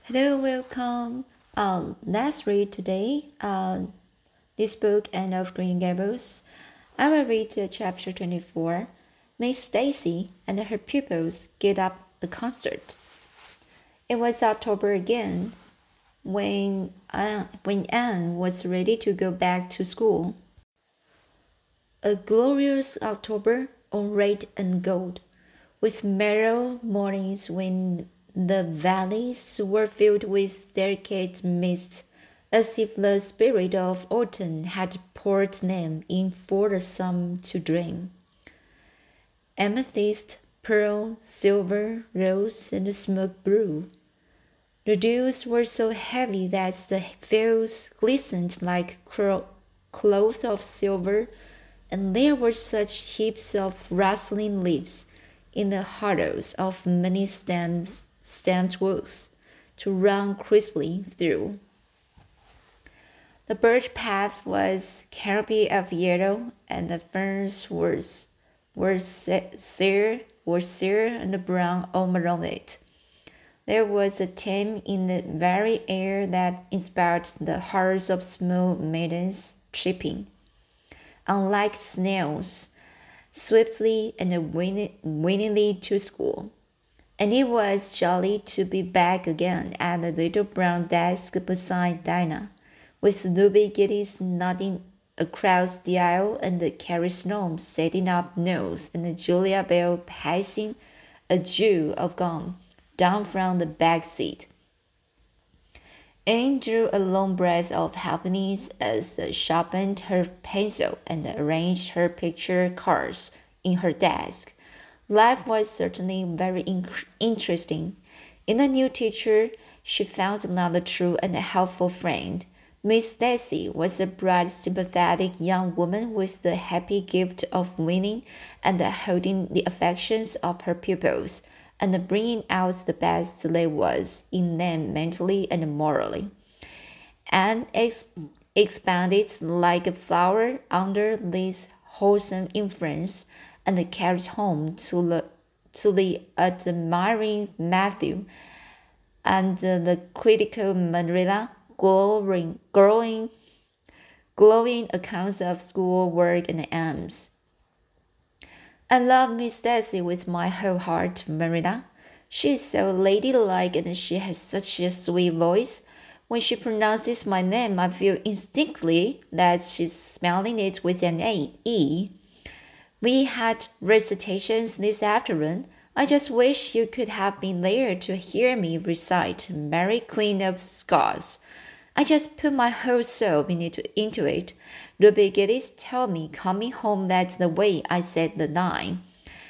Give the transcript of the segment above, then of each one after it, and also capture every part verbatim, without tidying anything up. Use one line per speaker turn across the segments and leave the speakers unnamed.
Hello, welcome. Um, let's read today. Uh, this book, Anne of Green Gables. I will read uh, chapter twenty-four. Miss Stacy and her pupils get up a concert. It was October again, when Anne, when Anne was ready to go back to school. A glorious October on red and gold, with merry mornings when the valleys were filled with delicate mist, as if the spirit of autumn had poured them in for the sun to dream. Amethyst, pearl, silver, rose, and smoke blue. The dews were so heavy that the fields glistened like cloth of silver, and there were such heaps of rustling leaves in the hollows of many stems, stemmed woods to run crisply through. The birch path was canopy of yellow, and the ferns were, were sere, were sere and brown all around it. There was a tame in the very air that inspired the hearts of small maidens tripping, unlike snails, swiftly and winningly to school. And it was jolly to be back again at the little brown desk beside Dinah, with Ruby Gillis nodding across the aisle and Carrie Snow setting up notes and Julia Bell passing a jewel of gum down from the back seat. Anne drew a long breath of happiness as she sharpened her pencil and arranged her picture cards in her desk. Life was certainly very in- interesting. In the new teacher, she found another true and helpful friend. Miss Stacy was a bright, sympathetic young woman with the happy gift of winning and holding the affections of her pupils, and bringing out the best there was in them mentally and morally. And ex- expanded like a flower under this wholesome influence, and carried home to the to the admiring Matthew and the critical Marilla glowing, glowing, glowing accounts of school work and aims. I love Miss Stacy with my whole heart, Marilla. She is so ladylike and she has such a sweet voice. When she pronounces my name, I feel instinctively that she's spelling it with an A E. We had recitations this afternoon. I just wish you could have been there to hear me recite Mary Queen of Scots. I just put my whole soul into it. Ruby Gillis told me coming home that's the way I said the line.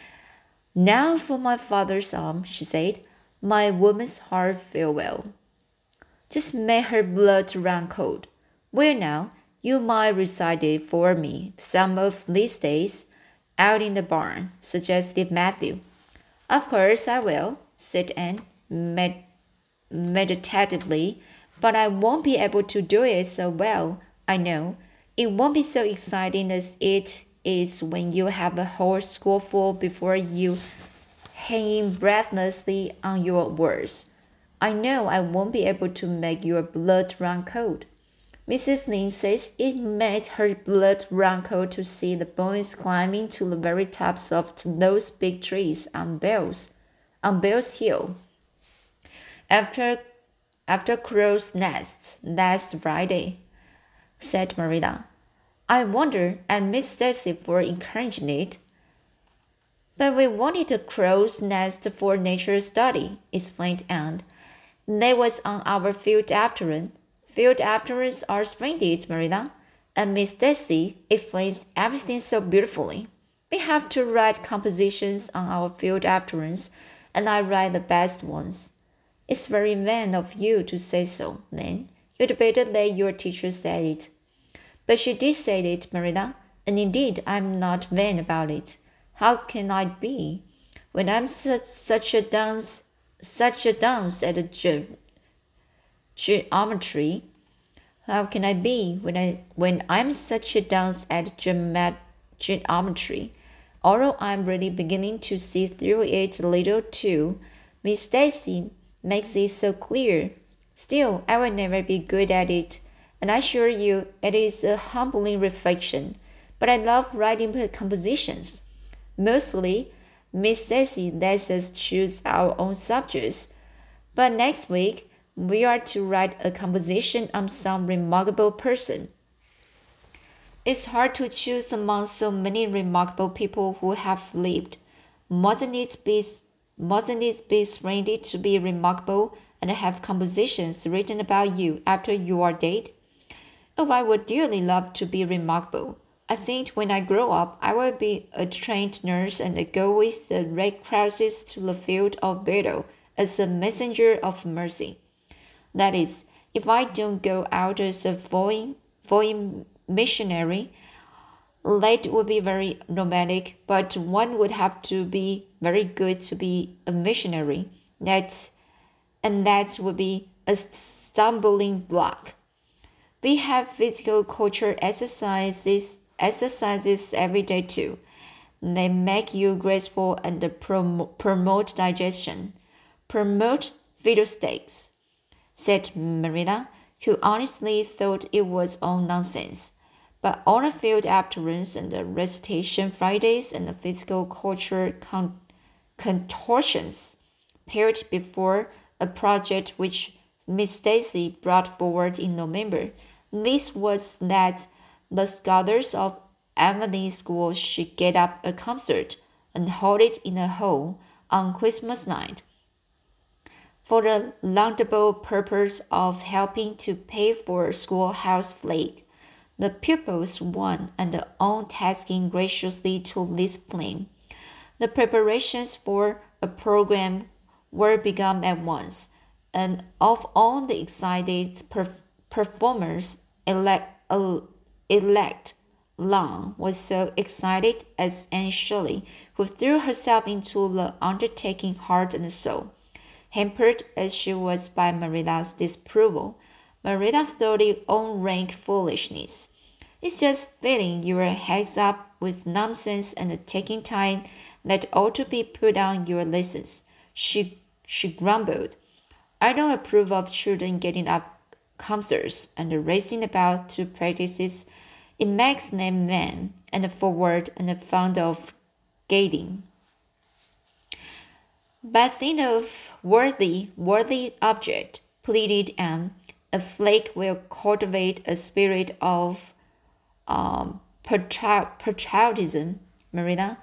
Now for my father's arm, she said. My woman's heart farewell. Just made her blood run cold. Well now, you might recite it for me some of these days out in the barn, suggested Matthew. Of course I will, said Anne med- meditatively, but I won't be able to do it so well, I know. It won't be so exciting as it is when you have a whole schoolful before you hanging breathlessly on your words. I know I won't be able to make your blood run cold. Missus Lynde says it made her blood run cold to see the boys climbing to the very tops of those big trees on Bell's, on Bell's Hill. After, after Crow's Nest last Friday, said Marilla. I wonder at Miss Stacy for encouraging it. But we wanted a crow's nest for nature study, explained Anne. That was on our field afternoon. Field afternoons are splendid, Marilla, and Miss Stacy explains everything so beautifully. We have to write compositions on our field afternoons, and I write the best ones. It's very vain of you to say so, Nan. You'd better let your teacher say it. But she did say it, Marilla, and indeed I'm not vain about it. How can I be, when I'm such, such a dunce, such a dunce at ge- geometry? How can I be when I when I'm such a dunce at geomet- geometry? Although I'm really beginning to see through it a little too, Miss Stacy makes it so clear Still, I will never be good at it, and I assure you it is a humbling reflection. But I love writing compositions. Mostly, Miss Stacy lets us choose our own subjects. But next week, we are to write a composition on some remarkable person. It's hard to choose among so many remarkable people who have lived. Mustn't it be, mustn't it be splendid to be remarkable and have compositions written about you after you are dead? Oh, I would dearly love to be remarkable. I think when I grow up, I will be a trained nurse and go with the Red Crosses to the field of battle as a messenger of mercy. That is, if I don't go out as a foreign, foreign missionary, that would be very romantic, but one would have to be very good to be a missionary. That, and that would be a stumbling block. We have physical culture exercises exercises every day too. They make you graceful and prom- promote digestion. Promote fiddlesticks, said Marilla, who honestly thought it was all nonsense. But on the field afternoons and the recitation Fridays and the physical culture con- contortions appeared before a project which Miss Stacy brought forward in November. This was that the scholars of Emily School should get up a concert and hold it in a hall on Christmas night for the laudable purpose of helping to pay for schoolhouse flag. The pupils won and all tasking graciously to this plan. The preparations for a program were begun at once, and of all the excited per- performers, elect, uh, elect Long was so excited as Anne Shirley, who threw herself into the undertaking heart and soul. Hampered as she was by Marilla's disapproval, Marilla thought it all rank foolishness. It's just filling your heads up with nonsense and taking time that ought to be put on your lessons, she, she grumbled. I don't approve of children getting up concerts and racing about to practices. It makes them vain and forward and fond of gadding. But think of worthy, worthy object, pleaded Anne. A flake will cultivate a spirit of um, patriotism, Marilla.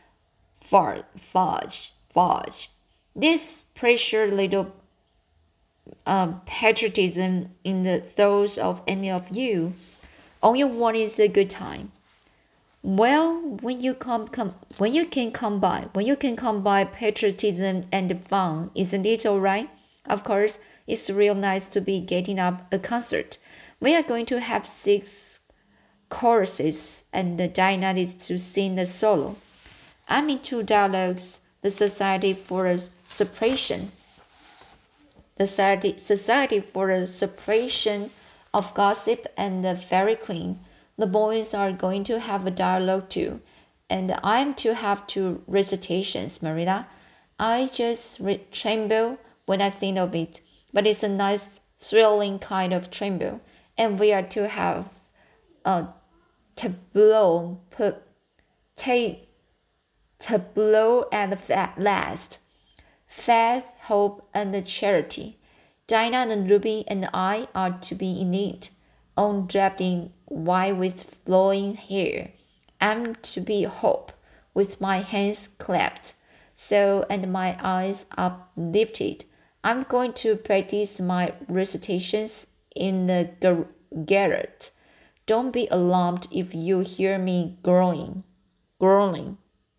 Fudge, fudge. This pressure little um, patriotism in the thoughts of any of you. All you want is a good time. Well, when you come, come when you can combine when you can combine patriotism and fun, isn't it all right? Of course, it's real nice to be getting up a concert. We are going to have six choruses, and Diana is to sing the solo. I'm in two dialogues, the Society for a Separation, the Society, Society for the Separation of Gossip and the Fairy Queen. The boys are going to have a dialogue too, and I'm to have two recitations, Marilla. I just re- tremble when I think of it, but it's a nice, thrilling kind of tremble, and we are to have a tableau, put, take, tableau at last. Faith, hope, and charity. Dinah and Ruby and I are to be in it, all draped in white with flowing hair. I'm to be hope, with my hands clapped, so and my eyes uplifted. I'm going to practice my recitations in the garret. Don't be alarmed if you hear me growling. Growling.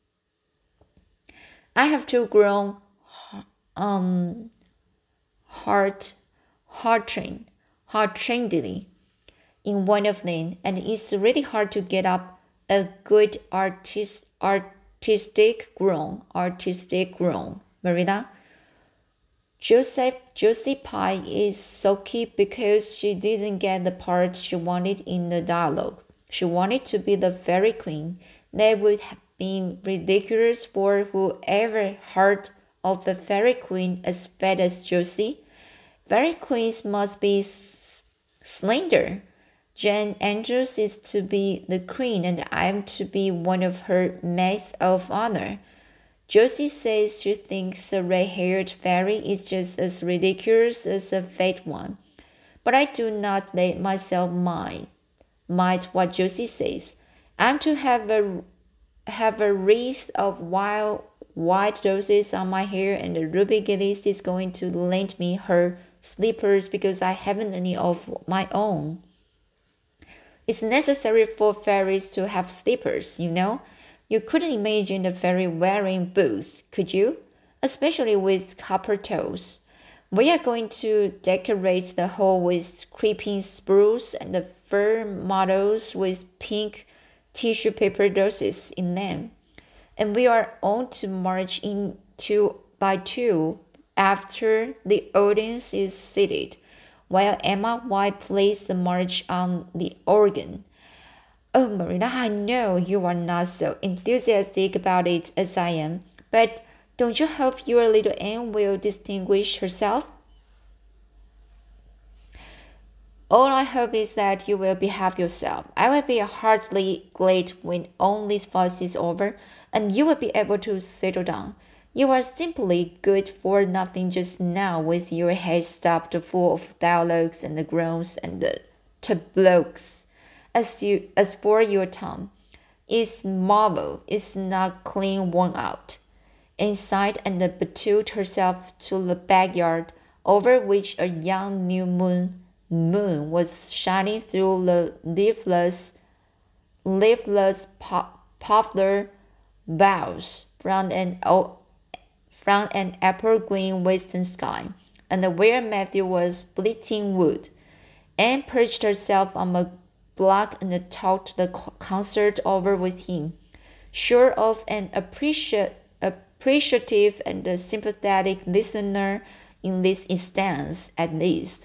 I have to groan um heart heart-trained, heart-trainedly in one of them, and it's really hard to get up a good artist artistic groan, artistic groan. Marina, Joseph Josie Pye is sulky because she didn't get the part she wanted in the dialogue. She wanted to be the fairy queen. That would have been ridiculous for whoever heard of the fairy queen as fat as Josie. Fairy queens must be s- slender. Jane Andrews is to be the queen, and I'm to be one of her maids of honor. Josie says she thinks a red-haired fairy is just as ridiculous as a fat one. But I do not let myself mind, mind what Josie says. I'm to have a have a wreath of wild white roses on my hair, and Ruby Gillis is going to lend me her slippers because I haven't any of my own. It's necessary for fairies to have slippers, you know. You couldn't imagine a fairy wearing boots, could you? Especially with copper toes. We are going to decorate the hall with creeping spruce and the fir myrtles with pink tissue paper roses in them. And we are all to march in two by two after the audience is seated, while Emma White plays the march on the organ. Oh, Marina, I know you are not so enthusiastic about it as I am, but don't you hope your little Anne will distinguish herself? All I hope is that you will behave yourself. I will be heartily glad when all this fuss is over, and you will be able to settle down. You are simply good for nothing just now, with your head stuffed full of dialogues and groans and tableaux. As you as for your tongue, its marvel is not clean worn out. Inside, and betuled herself to the backyard, over which a young new moon moon was shining through the leafless, leafless pop, poplar boughs from an from an apple green western sky, and where Matthew was splitting wood. Anne perched herself on a block and talked the concert over with him, sure of an appreciate, appreciative and sympathetic listener in this instance, at least.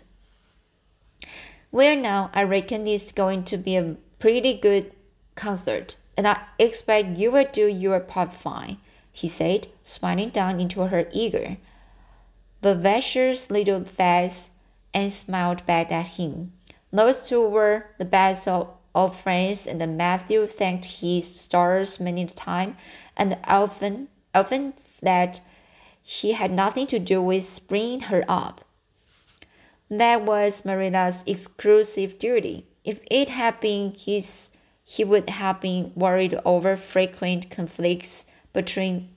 Well, now, I reckon it's going to be a pretty good concert, and I expect you will do your part fine, he said, smiling down into her eager, vivacious little face, and smiled back at him. Those two were the best of, of friends, and Matthew thanked his stars many times, and often, often that he had nothing to do with bringing her up. That was Marilla's exclusive duty. If it had been his, he would have been worried over frequent conflicts between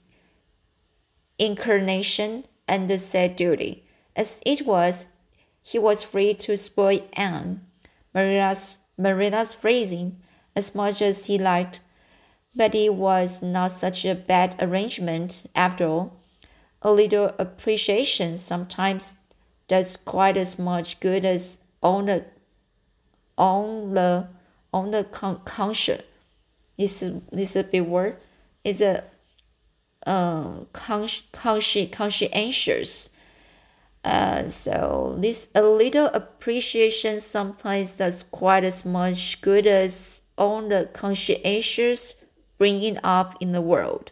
inclination and the said duty. As it was, he was free to spoil Anne, Marilla's, Marilla's phrasing, as much as he liked. But it was not such a bad arrangement after all. A little appreciation sometimes does quite as much good as on the on the on the con- conscience. This this a big word. It's a uh consci consci conscientious. Uh, so this a little appreciation sometimes does quite as much good as on the conscientious bringing up in the world.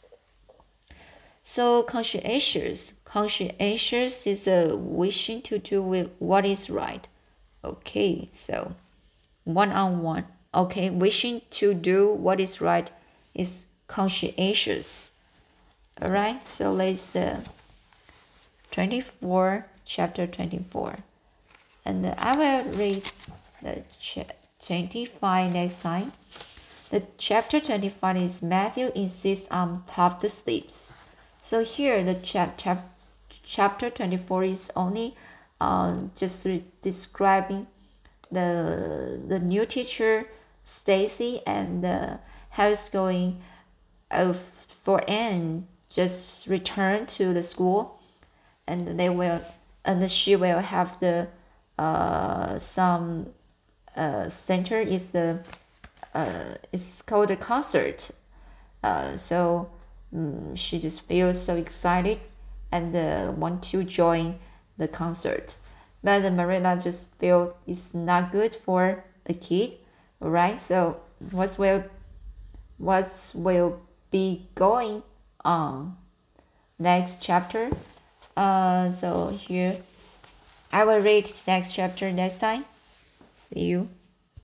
So conscientious, conscientious is a wishing to do with what is right. Okay, so one on one. Okay, wishing to do what is right is conscientious. All right, so let's uh, twenty-four, chapter twenty-four, and uh, I will read the ch- twenty-five next time. The chapter twenty-five is Matthew insists on puffed sleeves. So here the chap, chap, chapter twenty-four is only uh, just re- describing the the new teacher Stacy and uh, how it's going uh, for Anne just return to the school, and they will and she will have the uh, some uh, center is the uh, it's called a concert. Uh, so um, she just feels so excited and uh, want to join the concert. But uh, Marilla just feel it's not good for a kid, right? So what will what will be going on next chapter? Uh, so here I will read the next chapter next time. See you.